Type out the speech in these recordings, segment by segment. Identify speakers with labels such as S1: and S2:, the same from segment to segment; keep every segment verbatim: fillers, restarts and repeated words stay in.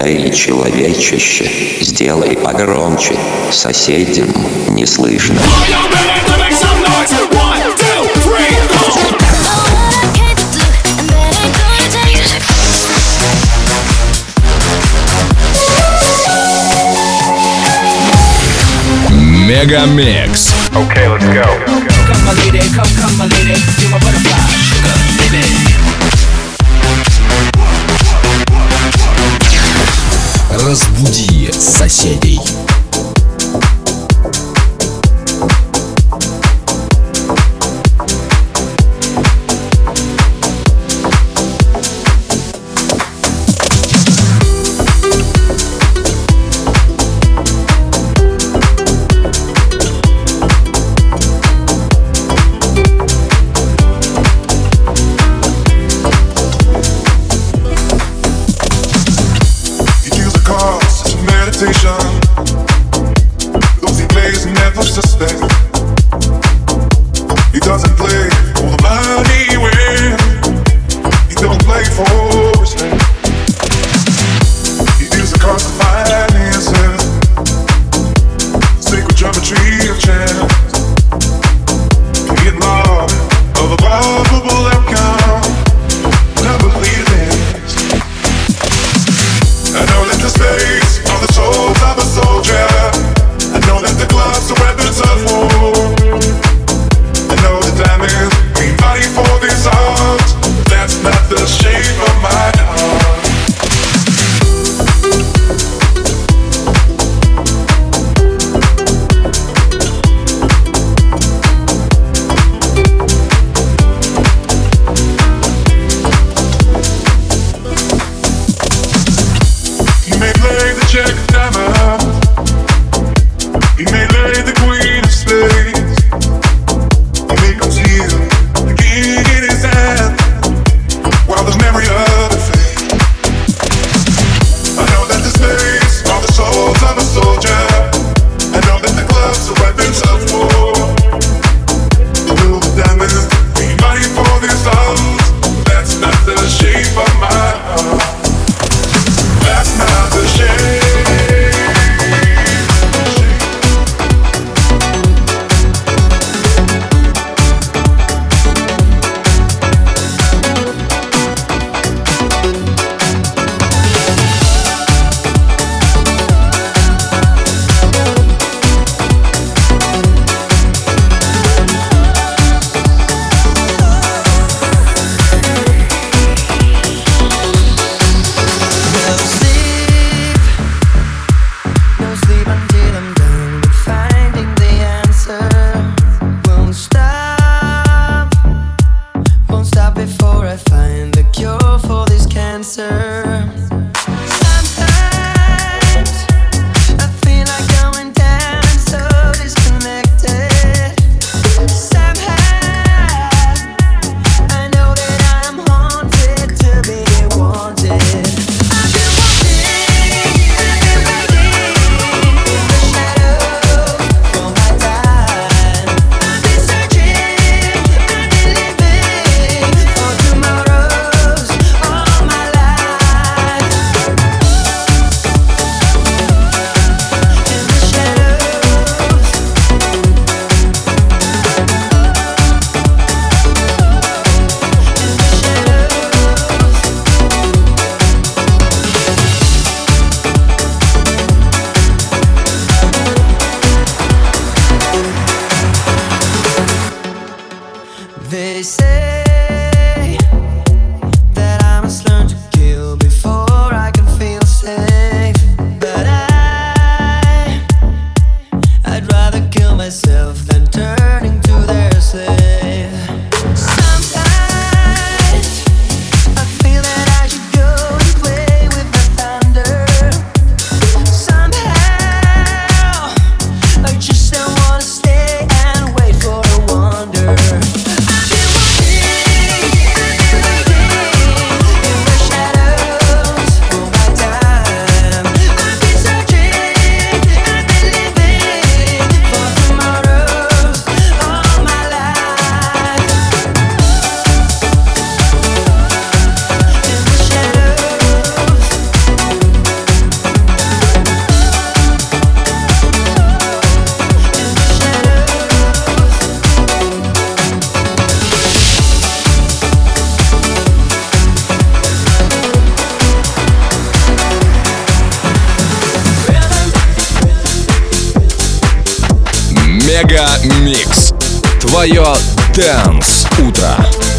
S1: Эй, человечище, сделай погромче, соседям не слышно.
S2: Мегамикс.
S3: Okay, let's go.
S4: Come my lady, come, come my lady, you're my butterfly, sugar, baby.
S2: Разбуди соседей.
S5: Those he plays never suspect. He doesn't play for the money win. He don't play for respect. He deals the cards to finances, sacred geometry of chance. Get love of a probable outcome. Never lead this. I know that the space are the souls of a soldier. I know that the gloves are weapons of war. I know the diamonds mean money for this art. That's not the shape of my heart. You may play the check of diamonds. He may lay the queen of spades. He may conceal the king in his hand while the memory of it fades. I know that the spades are the souls of a soldier. I know that the gloves are weapons of war. I know the diamonds mean money for this house. That's not the shape of my heart. That's not the shape.
S2: Мега Микс. Твое Dance утро.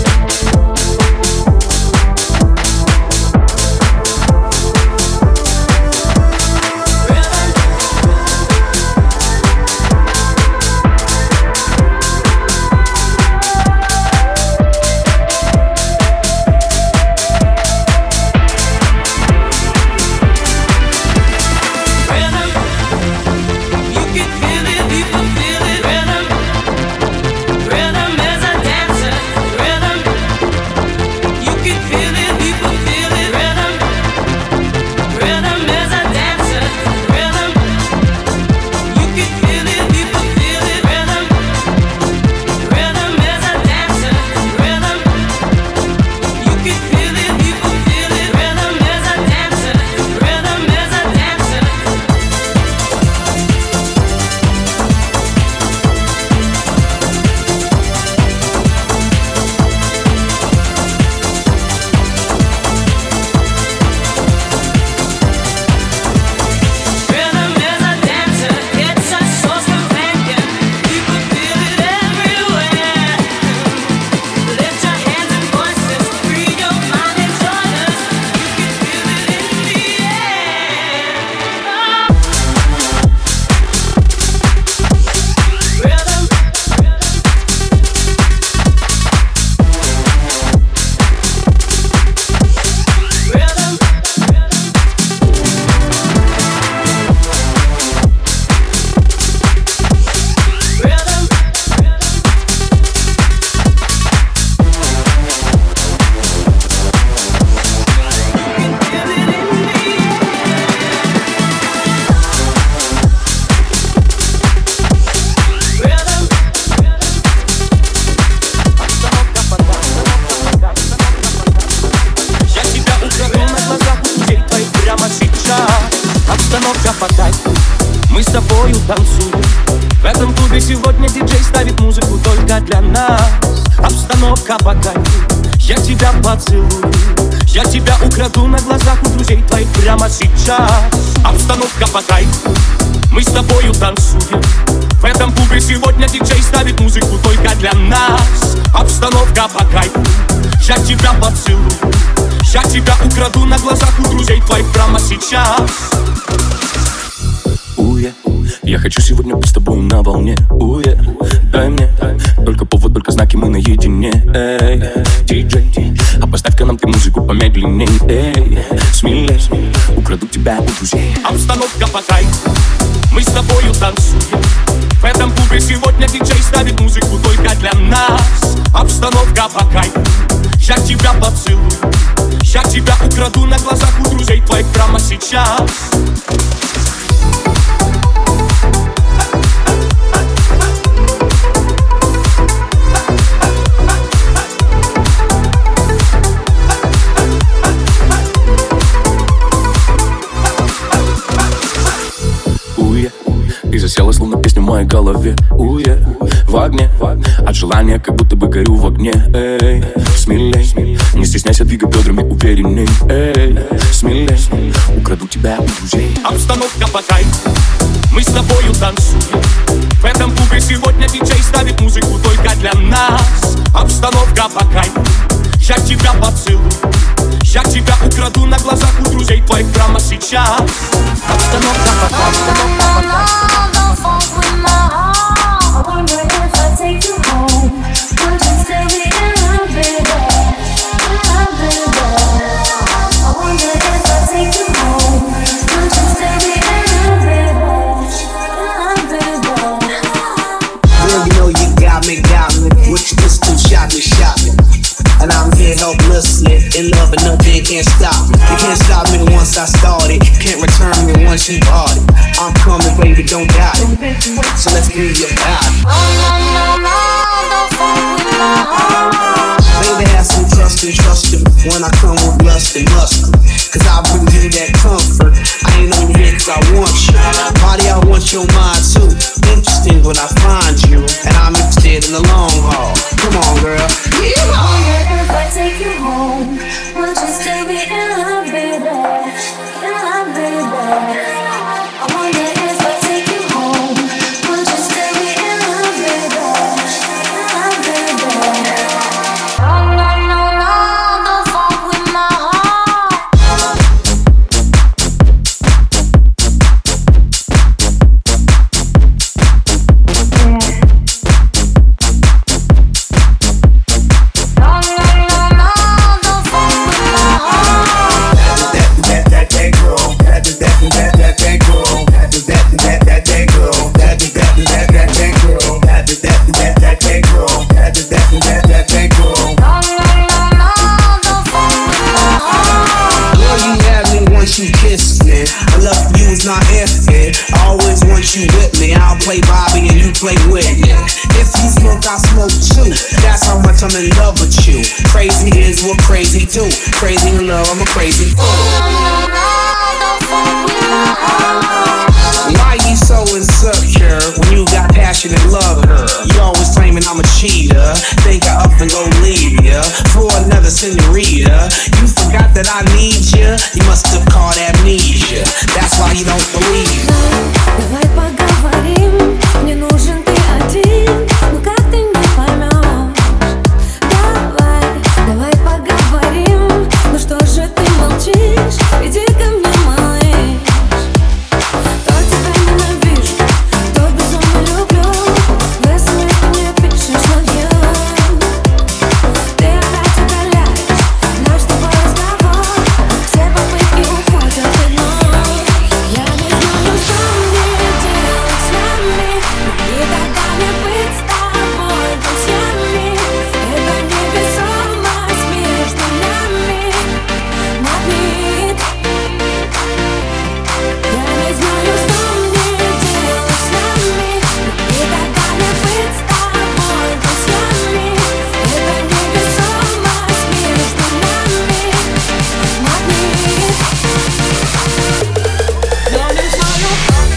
S3: Мы с тобою танцуем. В этом клубе сегодня диджей ставит музыку только для нас. Обстановка по кайфу, я тебя поцелую. Я тебя украду на глазах у друзей твоих прямо сейчас. Обстановка по кайфу, мы с тобою танцуем. В этом клубе сегодня диджей ставит музыку только для нас. Обстановка по кайфу, я тебя поцелую. Я тебя украду на глазах у друзей твоих прямо сейчас. Уе, я хочу сегодня быть с тобой на волне. Уе, дай мне только повод, только знаки, мы наедине. Эй, диджей, а поставь-ка нам ты музыку помедленней. Эй, смелей, украду тебя у друзей. Обстановка по кайфу, мы с тобою танцуем. В этом клубе сегодня диджей ставит музыку только для нас. Обстановка по кайфу, я тебя поцелую. Я тебя украду на глазах у друзей твоих прямо сейчас. И засела словно песня в моей голове. Уе, в огне, от желания как будто бы горю в огне. Эй, смелей, не стесняйся, двигай бедрами уверенней. Эй, смелей, украду тебя у друзей. Обстановка по кайфу, мы с тобою танцуем. В этом клубе сегодня диджей ставит музыку только для нас. Обстановка по кайфу, я тебя поцелую. Я тебя украду на глазах у друзей твоих прямо сейчас. Обстановка по кайфу.
S6: And I'm here helplessly, in love and nothing can't stop me. You can't stop me once I started, can't return me once you bought it. I'm coming, baby, don't doubt it. So let's get it about it. Oh, no, no, no, don't fuck with my heart. Baby, have some trust and trust him when I come with lust and lust. Cause I bring you that comfort. I ain't on here cause I want you. Body, I want your mind too. Interesting when I find you. And I'm interested in the long haul. Come on, girl. Yeah. I wonder if I take you home, would you still be in love, baby? In love, baby. I wonder if I take you home, would you still be in love? play Bobby and you play Whitney. If you smoke, I smoke too. That's how much I'm in love with you. Crazy is what crazy do. Crazy in love, I'm a crazy fool. Why you so insecure when you got passion and love her? You always claiming I'm a cheater. Think I up and go leave ya for another senorita. You forgot that I need ya. You must have caught amnesia. That's why you don't believe.
S7: Давай поговорим. Мне нужен ты один. Ну как ты не поймешь? Давай, давай поговорим. Ну что же ты молчишь? Иди ко мне, малыш. То тебя ненавижу, то безумно люблю. В смс ты мне пишешь love you. Ты опять удаляешь наш с тобой разговор. Все попытки уходят в ноль. Я не знаю, что мне делать с нами. Никогда не быть с тобой друзьями. Это невесомость между нами магнит. Я не знаю, что мне делать с нами. Никогда не быть с тобой друзьями. Это невесомость между нами магнит. Я не знаю.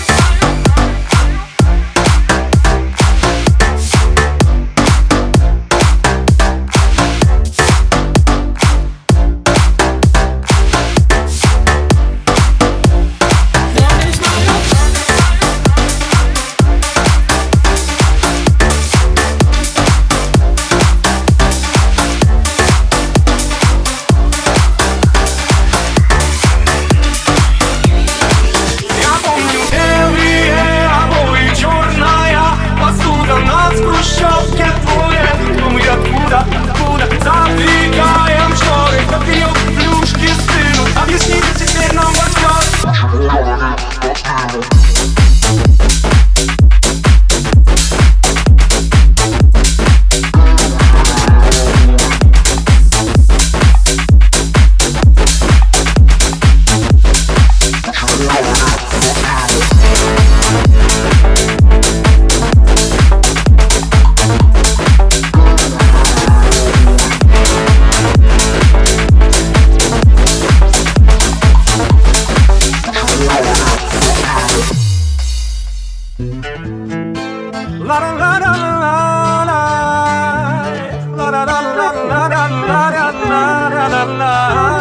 S3: Я помню белые обои, черная посуда нас в хрущевке двое. Но мы откуда, откуда задвигаем шторы, кофеек, плюшки стынут. Объясните теперь нам вопрос. La la la la la la la la la la la la la la la.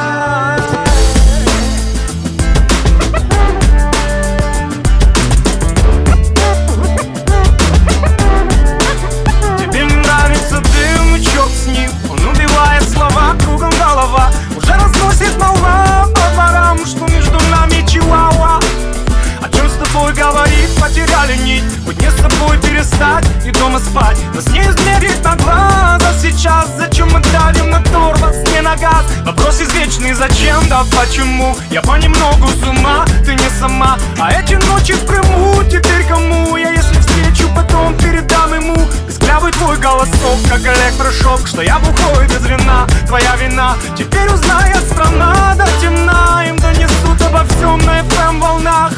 S3: Тебе нравится дым, и черт с ним. Он убивает слова, кругом голова. Уже разносит молва по дворам, что между нами чиуауа. О чем с тобой говорить, потеряли нить. Быть не с тобой перестать и дома спать. Нас не измерить на глаз, а сейчас зачем мы давим на тормоз, не на газ? Вопрос извечный, зачем, да почему? Я понемногу с ума, ты не сама. А эти ночи в Крыму, теперь кому? Я если встречу, потом передам ему. Песклявый твой голосок, как электрошок. Что я бухой без вина, твоя вина. Теперь узнает страна до темна. Им донесут обо всем на эф эм волнах.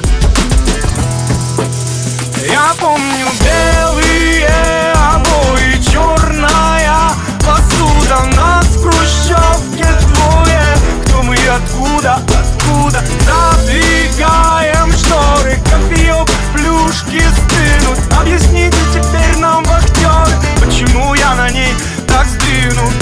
S3: Я помню белые обои, черная посуда. Нас в хрущевке двое. Кто мы и откуда, откуда? Задвигаем шторы, кофеек, плюшки стынут. Объясните теперь нам, вахтеры, почему я на ней так сдвинут.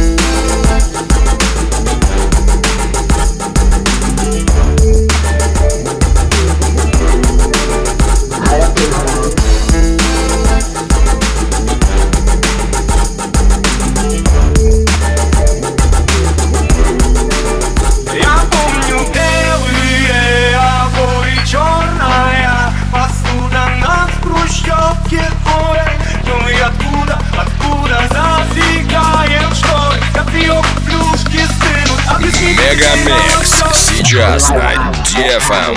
S2: Мегамикс сейчас на ди эф эм.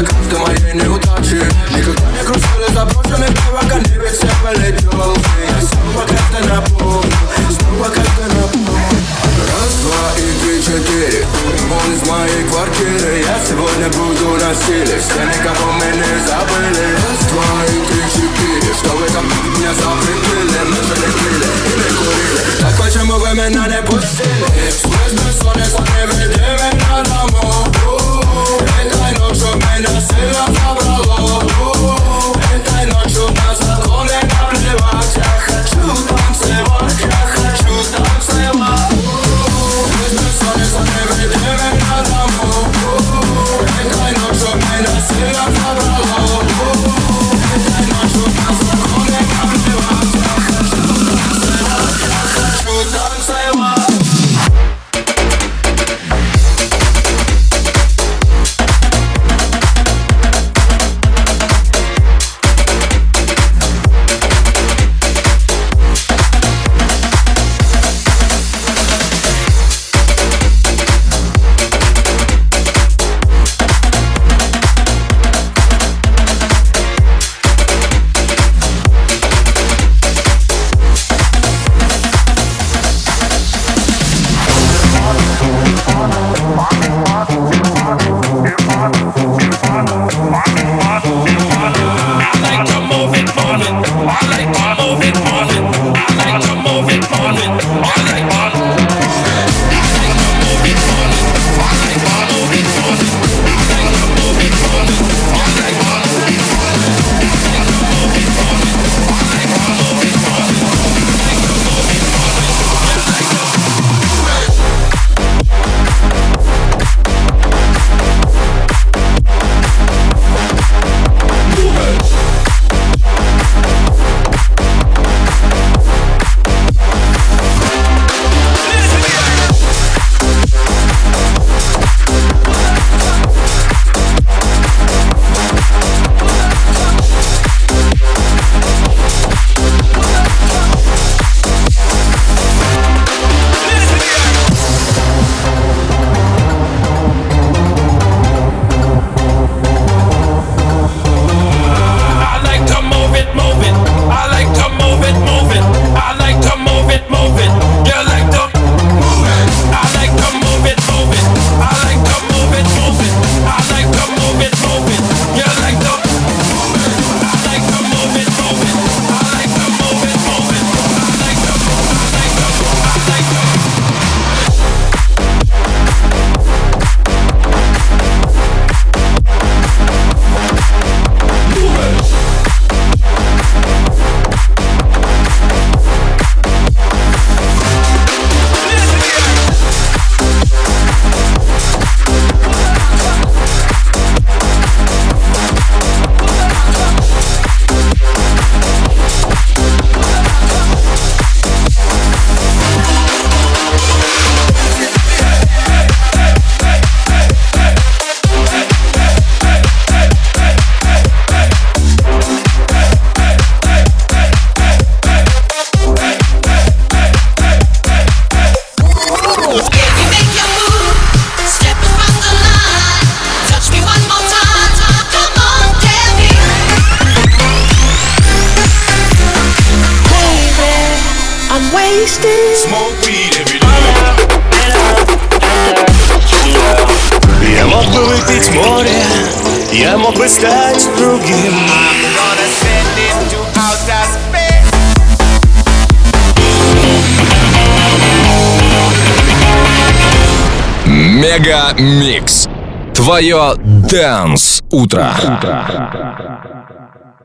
S3: крышка моей неудачи. Никогда не кружили заброшенный пока не ведь все полетел. Я снова как-то напомню, снова как-то напомню. Раз, два и три, четыре. Он из моей квартиры. Я сегодня буду на силе. Все никого мы не забыли. Раз, два и три, четыре. Что вы там меня запретили? Мы же не пили и не курили. Так почему вы меня не пустили? Сквозь бессонница не веди меня домой. Этой ночью меня сильно забрало. Этой ночью на законы наплевать. Я хочу танцевать, я хочу танцевать. Сквозь бессонница не веди меня домой. Этой ночью меня сильно забрало. Этой ночью на законы наплевать. Я хочу танцевать, я хочу танцевать.
S8: Я мог бы выпить море, я мог бы стать другим.
S2: Мега Микс. Твое Dance утро.